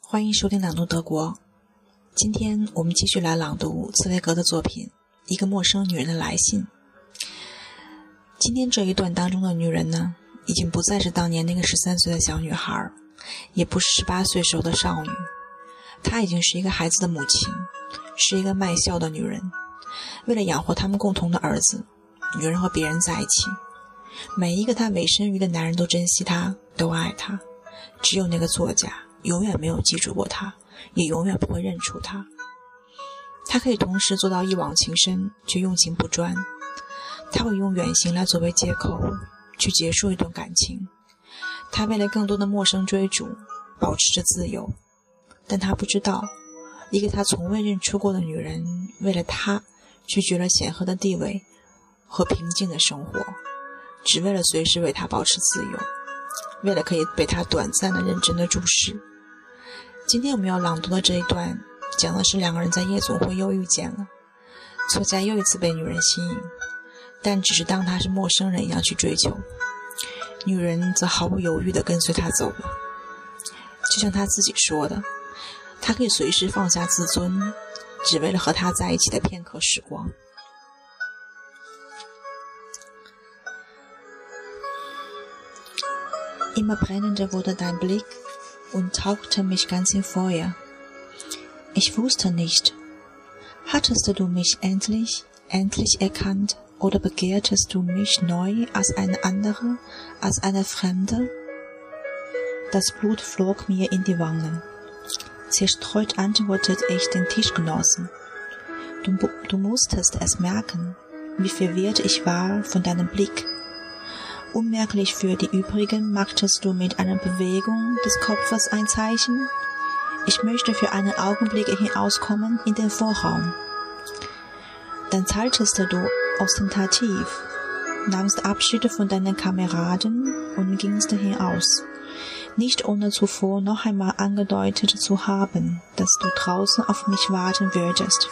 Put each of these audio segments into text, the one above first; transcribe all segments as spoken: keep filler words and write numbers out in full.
欢迎收听朗读德国。今天我们继续来朗读茨威格的作品《一个陌生女人的来信》。今天这一段当中的女人呢，已经不再是当年那个十三岁的小女孩，也不是十八岁时候的少女，她已经是一个孩子的母亲，是一个卖笑的女人。为了养活他们共同的儿子，女人和别人在一起。每一个她委身于的男人都珍惜她，都爱她，只有那个作家永远没有记住过她，也永远不会认出她。他可以同时做到一往情深，却用情不专。他会用远行来作为借口，去结束一段感情。他为了更多的陌生追逐，保持着自由。但他不知道，一个他从未认出过的女人，为了他拒绝了显赫的地位和平静的生活，只为了随时为他保持自由，为了可以被他短暂的认真的注视。今天我们要朗读的这一段，讲的是两个人在夜总会又遇见了，作家又一次被女人吸引，但只是当他是陌生人一样去追求，女人则毫不犹豫地跟随他走了。就像他自己说的，他可以随时放下自尊，只为了和他在一起的片刻时光。Immer brennender wurde dein Blick und tauchte mich ganz in Feuer. Ich wusste nicht, hattest du mich endlich, endlich erkannt, oder begehrtest du mich neu als eine andere, als eine Fremde? Das Blut flog mir in die Wangen. Zerstreut antwortete ich den Tischgenossen. Du, du musstest es merken, wie verwirrt ich war von deinem Blick. Unmerklich für die übrigen machtest du mit einer Bewegung des Kopfes ein Zeichen. Ich möchte für einen Augenblick hinauskommen in den Vorraum. Dann zeigtest du ostentativ, nahmst Abschied von deinen Kameraden und gingst hinaus, nicht ohne zuvor noch einmal angedeutet zu haben, dass du draußen auf mich warten würdest.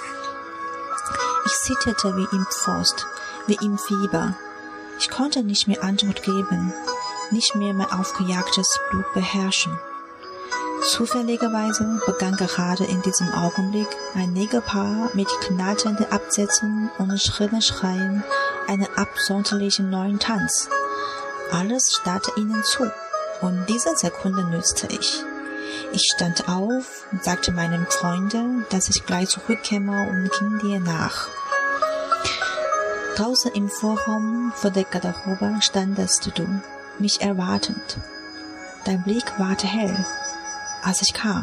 Ich zitterte wie im Frost, wie im Fieber. Ich konnte nicht mehr Antwort geben, nicht mehr mein aufgejagtes Blut beherrschen. Zufälligerweise begann gerade in diesem Augenblick ein Negerpaar mit knatternden Absätzen und schrillen Schreien einen absonderlichen neuen Tanz. Alles starrte ihnen zu, und diese Sekunde nützte ich. Ich stand auf und sagte meinem Freunde, dass ich gleich zurückkäme und ging dir nach. Draußen im Vorraum vor der Garderobe standest du, mich erwartend. Dein Blick ward hell, als ich kam.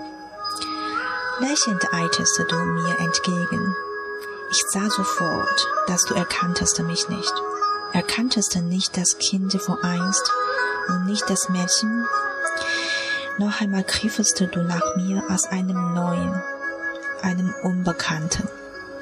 Lächelnd eiltest du mir entgegen. Ich sah sofort, dass du erkanntest mich nicht. Erkanntest nicht das Kind von einst und nicht das Mädchen. Noch einmal griffest du nach mir als einem Neuen, einem Unbekannten.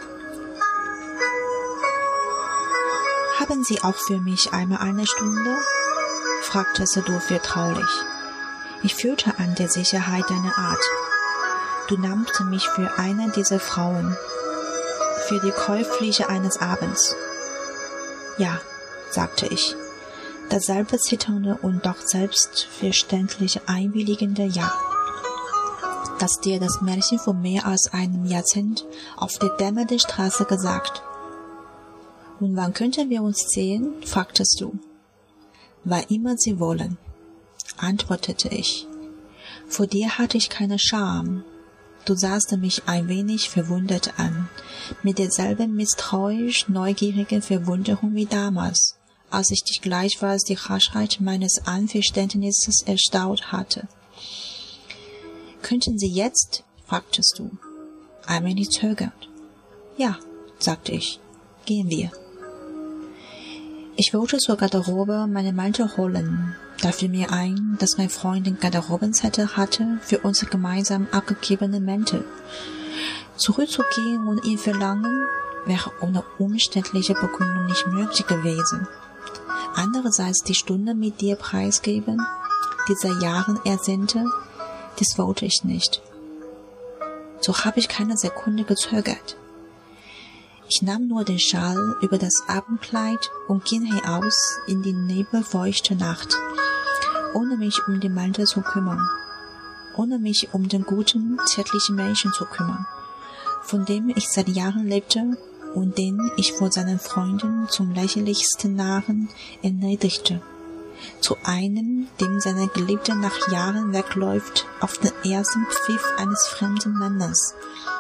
Haben Sie auch für mich einmal eine Stunde? Fragtest du vertraulich. Ich fühlte an der Sicherheit deiner Art. Du nahmst mich für eine dieser Frauen, für die Käufliche eines Abends. Ja, sagte ich, dasselbe zitternde und doch selbstverständliche einwilligende Ja, das dir das Mädchen vor mehr als einem Jahrzehnt auf der dämmernden Straße gesagt. Und wann könnten wir uns sehen? Fragtest du. Wann immer Sie wollen, antwortete ich. Vor dir hatte ich keine Scham. Du sahst mich ein wenig verwundert an, mit derselben misstrauisch neugierigen Verwunderung wie damals, als ich dich gleichfalls die Raschheit meines Einverständnisses erstaunt hatte. Könnten Sie jetzt? Fragtest du. Ein wenig zögernd. Ja, sagte ich. Gehen wir. Ich wollte zur Garderobe meinen Mantel holen. Da fiel mir ein, dass mein Freund den Garderobenzettel hatte für unsere gemeinsam abgegebenen Mäntel. Zurückzugehen und ihn verlangen, wäre ohne umständliche Begründung nicht möglich gewesen. Andererseits die Stunde mit dir preisgeben, die seit Jahren ersehnte, dies wollte ich nicht. So habe ich keine Sekunde gezögert. Ich nahm nur den Schal über das Abendkleid und ging hinaus in die nebelfeuchte Nacht, ohne mich um den Mantel zu kümmern. ohne mich um den guten, zärtlichen Menschen zu kümmern, von dem ich seit Jahren lebte und den ich vor seinen Freunden zum lächerlichsten Narren erniedrigte. Zu einem, dem seine Geliebte nach Jahren wegläuft auf den ersten Pfiff eines fremden Mannes.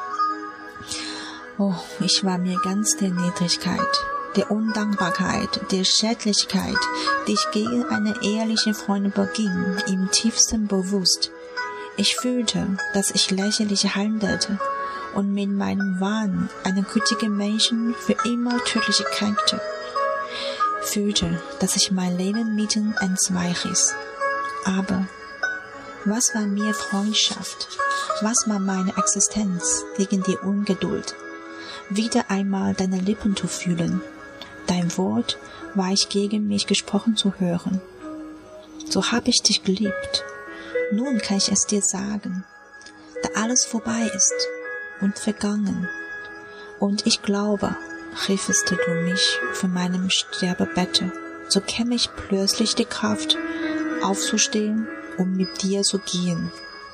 Oh, ich war mir ganz der Niedrigkeit, der Undankbarkeit, der Schädlichkeit, die ich gegen eine ehrliche Freundin beging, im tiefsten bewusst. Ich fühlte, dass ich lächerlich handelte und mit meinem Wahn einen gütigen Menschen für immer tödlich kränkte. Fühlte, dass ich mein Leben mitten entzweichriss. Aber was war mir Freundschaft? Was war meine Existenz gegen die Ungeduld? Wieder einmal deine Lippen zu fühlen. Dein Wort war ich gegen mich gesprochen zu hören. So hab ich dich geliebt. Nun kann ich es dir sagen, da alles vorbei ist und vergangen. Und ich glaube, riefest du mich von meinem Sterbebette, so käme ich plötzlich die Kraft, aufzustehen, um mit dir zu gehen.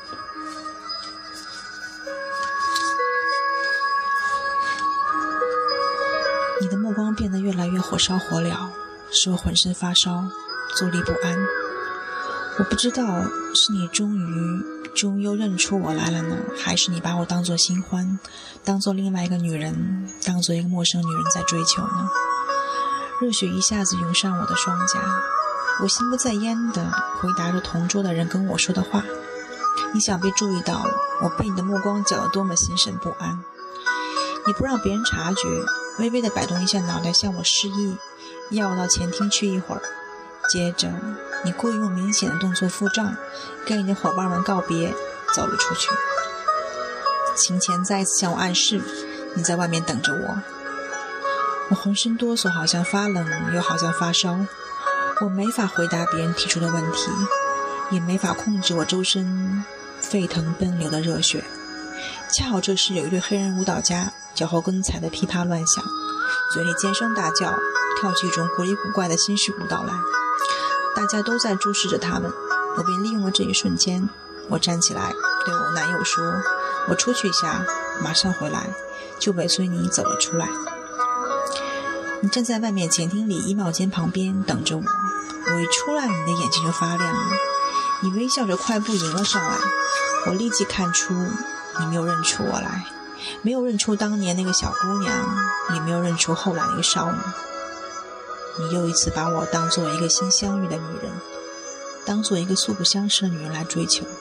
你的目光变得越来越火烧火燎，使我浑身发烧，坐立不安。我不知道是你终于终又认出我来了呢，还是你把我当作新欢，当作另外一个女人，当作一个陌生女人在追求呢？热血一下子涌上我的双颊，我心不在焉地回答着同桌的人跟我说的话。你想必注意到了，我被你的目光搅得多么心神不安。你不让别人察觉，微微地摆动一下脑袋向我示意，要我到前厅去一会儿。接着你故意用明显的动作付账，跟你的伙伴们告别，走了出去。琴前再一次向我暗示，你在外面等着我。我浑身哆嗦，好像发冷，又好像发烧。我没法回答别人提出的问题，也没法控制我周身沸腾奔流的热血。恰好这时有一对黑人舞蹈家脚后跟踩得噼啪乱响，嘴里尖声大叫，跳起一种古里古怪的新式舞蹈来。大家都在注视着他们，我便利用了这一瞬间，我站起来对我男友说，我出去一下，马上回来，就尾随你走了出来。你站在外面前厅里衣帽间旁边等着我，我一出来，你的眼睛就发亮了，你微笑着快步迎了上来。我立即看出你没有认出我来，没有认出当年那个小姑娘，也没有认出后来那个少女。你又一次把我当作一个新相遇的女人，当作一个素不相识的女人来追求。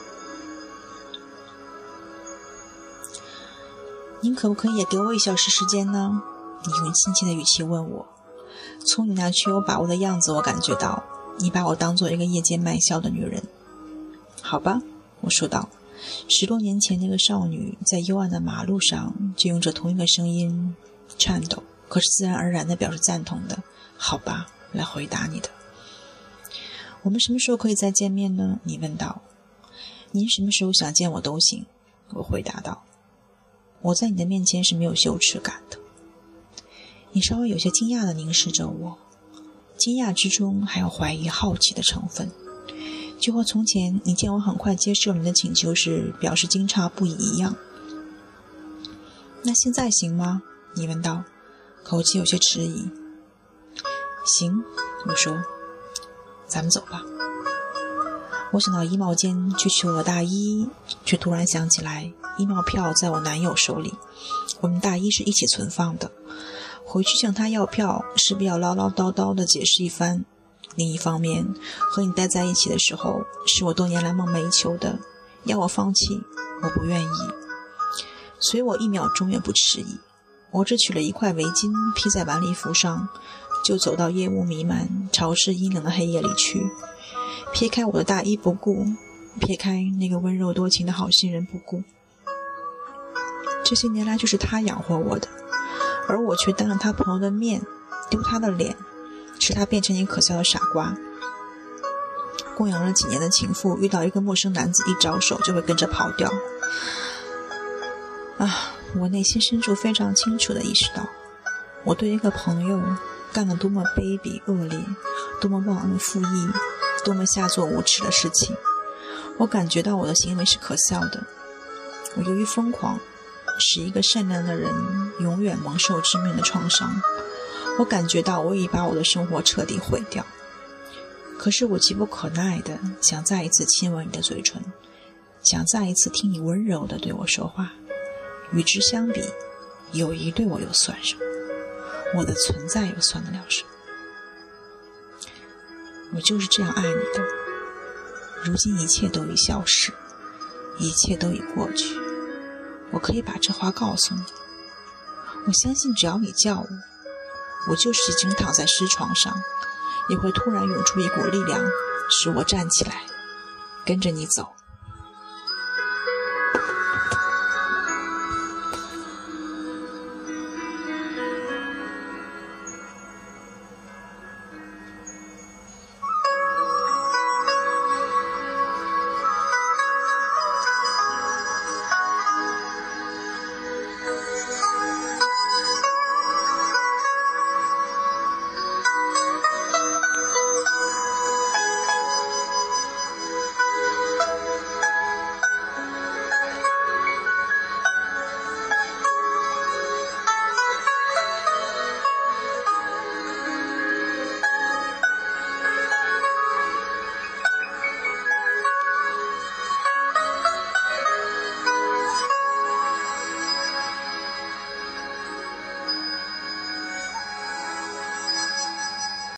您可不可以也给我一小时时间呢？你用亲切的语气问我。从你那缺有把握的样子，我感觉到你把我当作一个夜间卖笑的女人。好吧，我说道。十多年前那个少女在幽暗的马路上就用着同一个声音颤抖，可是自然而然地表示赞同的好吧来回答你的。我们什么时候可以再见面呢？你问道。您什么时候想见我都行，我回答道。我在你的面前是没有羞耻感的。你稍微有些惊讶地凝视着我，惊讶之中还有怀疑好奇的成分，就和从前你见我很快接受你的请求时表示惊诧不已一样。那现在行吗？你问道，口气有些迟疑。行，我说，咱们走吧。我想到衣帽间去取我的大衣，却突然想起来衣帽票在我男友手里，我们大衣是一起存放的，回去向他要票势必要唠唠叨叨地解释一番。另一方面，和你待在一起的时候是我多年来梦寐以求的，要我放弃我不愿意。所以我一秒钟也不迟疑，我只取了一块围巾披在晚礼服上，就走到夜雾弥漫潮湿阴冷的黑夜里去，撇开我的大衣不顾，撇开那个温柔多情的好心人不顾。这些年来就是他养活我的，而我却当着他朋友的面丢他的脸，使他变成一个可笑的傻瓜。供养了几年的情妇遇到一个陌生男子一招手就会跟着跑掉。啊，我内心深处非常清楚地意识到，我对一个朋友干了多么卑鄙恶劣，多么忘恩负义，多么下作无耻的事情。 我感觉到我的行为是可笑的，我由于疯狂，使一个善良的人永远蒙受致命的创伤。我感觉到我已把我的生活彻底毁掉，可是我急不可耐的想再一次亲吻你的嘴唇，想再一次听你温柔的对我说话。与之相比，友谊对我又算什么？我的存在又算得了什么？我就是这样爱你的，如今一切都已消逝，一切都已过去。我可以把这话告诉你，我相信只要你叫我，我就是已经躺在尸床上，也会突然涌出一股力量，使我站起来，跟着你走。